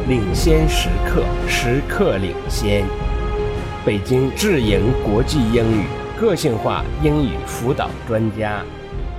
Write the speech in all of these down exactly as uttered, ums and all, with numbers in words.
领先时刻，时刻领先。北京智盈国际英语个性化英语辅导专家。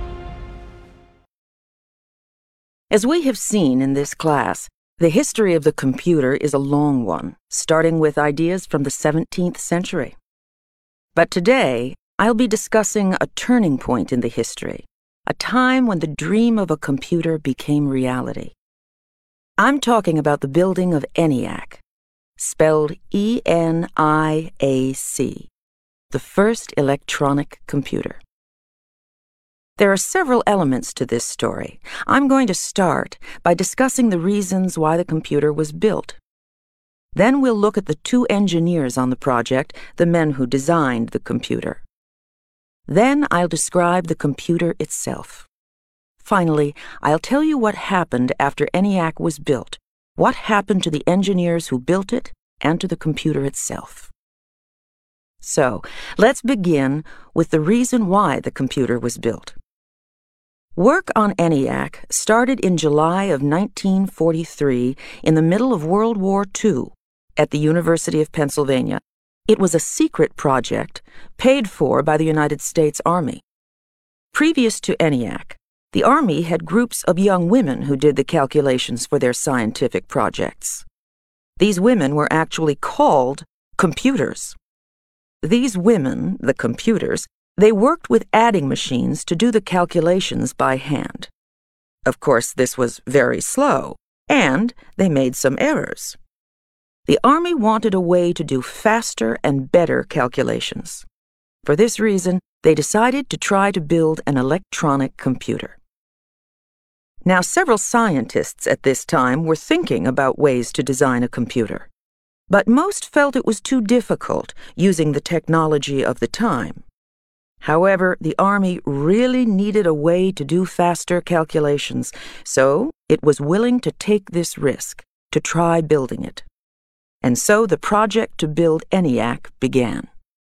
As we have seen in this class, the history of the computer is a long one, starting with ideas from the seventeenth century. But today, I'll be discussing a turning point in the history, a time when the dream of a computer became reality. I'm talking about the building of ENIAC, spelled E N I A C, the first electronic computer. There are several elements to this story. I'm going to start by discussing the reasons why the computer was built. Then we'll look at the two engineers on the project, the men who designed the computer. Then I'll describe the computer itself. Finally, I'll tell you what happened after ENIAC was built, what happened to the engineers who built it, and to the computer itself. So, let's begin with the reason why the computer was built. Work on ENIAC started in July of nineteen forty-three in the middle of World War Two at the University of Pennsylvania. It was a secret project paid for by the United States Army. Previous to ENIAC, the Army had groups of young women who did the calculations for their scientific projects. These women were actually called computers. These women, the computers, they worked with adding machines to do the calculations by hand. Of course, this was very slow, and they made some errors. The Army wanted a way to do faster and better calculations. For this reason, they decided to try to build an electronic computer. Now, several scientists at this time were thinking about ways to design a computer, but most felt it was too difficult using the technology of the time. However, the Army really needed a way to do faster calculations, so it was willing to take this risk, to try building it. And so the project to build ENIAC began.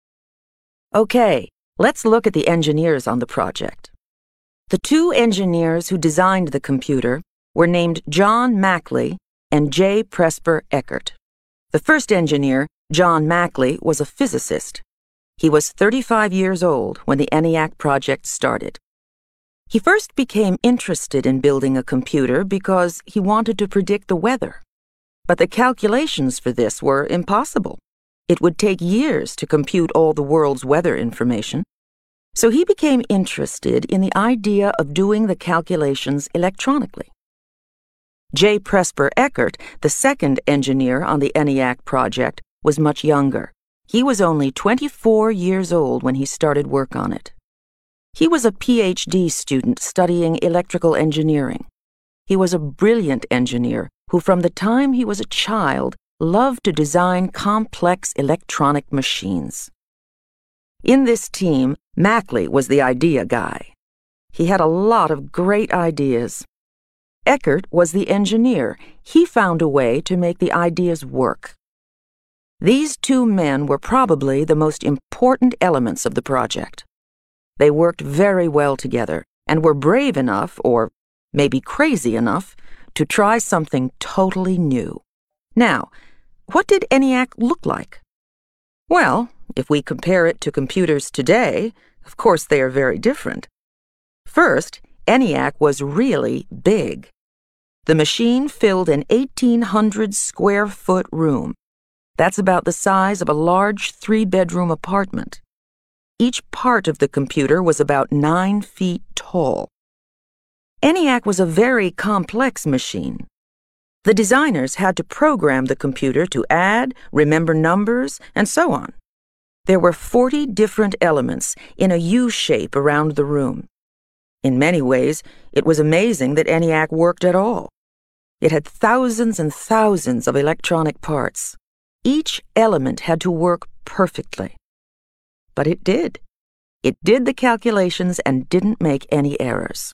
Okay, let's look at the engineers on the project. The two engineers who designed the computer were named John Mackley and J. Presper Eckert. The first engineer, John Mackley, was a physicist. He was thirty-five years old when the ENIAC project started. He first became interested in building a computer because he wanted to predict the weather. But the calculations for this were impossible. It would take years to compute all the world's weather information. So he became interested in the idea of doing the calculations electronically. J. Presper Eckert, the second engineer on the ENIAC project, was much younger. He was only twenty-four years old when he started work on it. He was a P H D student studying electrical engineering. He was a brilliant engineer who, from the time he was a child, loved to design complex electronic machines. In this team, Mackley was the idea guy. He had a lot of great ideas. Eckert was the engineer. He found a way to make the ideas work. These two men were probably the most important elements of the project. They worked very well together and were brave enough, or maybe crazy enough, to try something totally new. Now, what did ENIAC look like? Well, if we compare it to computers today, of course they are very different. First, ENIAC was really big. The machine filled an eighteen hundred square foot room. That's about the size of a large three-bedroom apartment. Each part of the computer was about nine feet tall. ENIAC was a very complex machine. The designers had to program the computer to add, remember numbers, and so on. There were forty different elements in a U shape around the room. In many ways, it was amazing that ENIAC worked at all. It had thousands and thousands of electronic parts. Each element had to work perfectly. But it did. It did the calculations and didn't make any errors.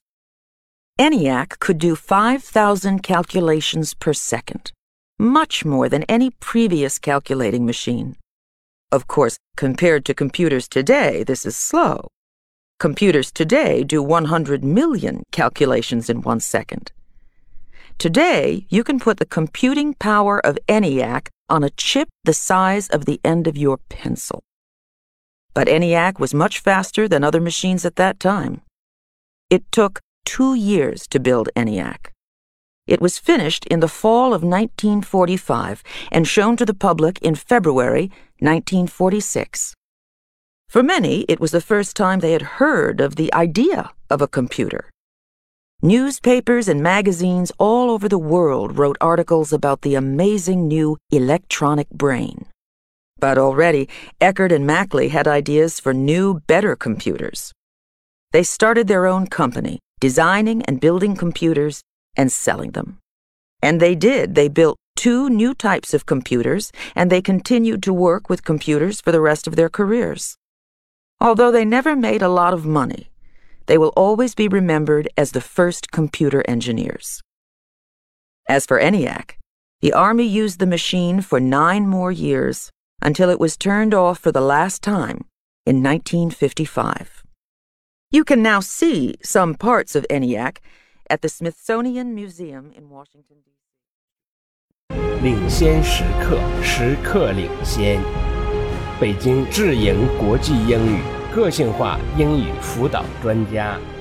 ENIAC could do five thousand calculations per second, much more than any previous calculating machine. Of course, compared to computers today, this is slow. Computers today do one hundred million calculations in one second. Today, you can put the computing power of ENIAC on a chip the size of the end of your pencil. But ENIAC was much faster than other machines at that time. It took two years to build ENIAC. It was finished in the fall of nineteen forty-five and shown to the public in February nineteen forty-six. For many, it was the first time they had heard of the idea of a computer. Newspapers and magazines all over the world wrote articles about the amazing new electronic brain. But already, Eckert and Mackley had ideas for new, better computers. They started their own company, designing and building computers and selling them. And they did. They built two new types of computers, and they continued to work with computers for the rest of their careers. Although they never made a lot of money, they will always be remembered as the first computer engineers. As for ENIAC, the Army used the machine for nine more years until it was turned off for the last time in nineteen fifty-five. You can now see some parts of ENIAC at the Smithsonian Museum in Washington, D C 领先时刻，时刻领先。北京智盈国际英语个性化英语辅导专家。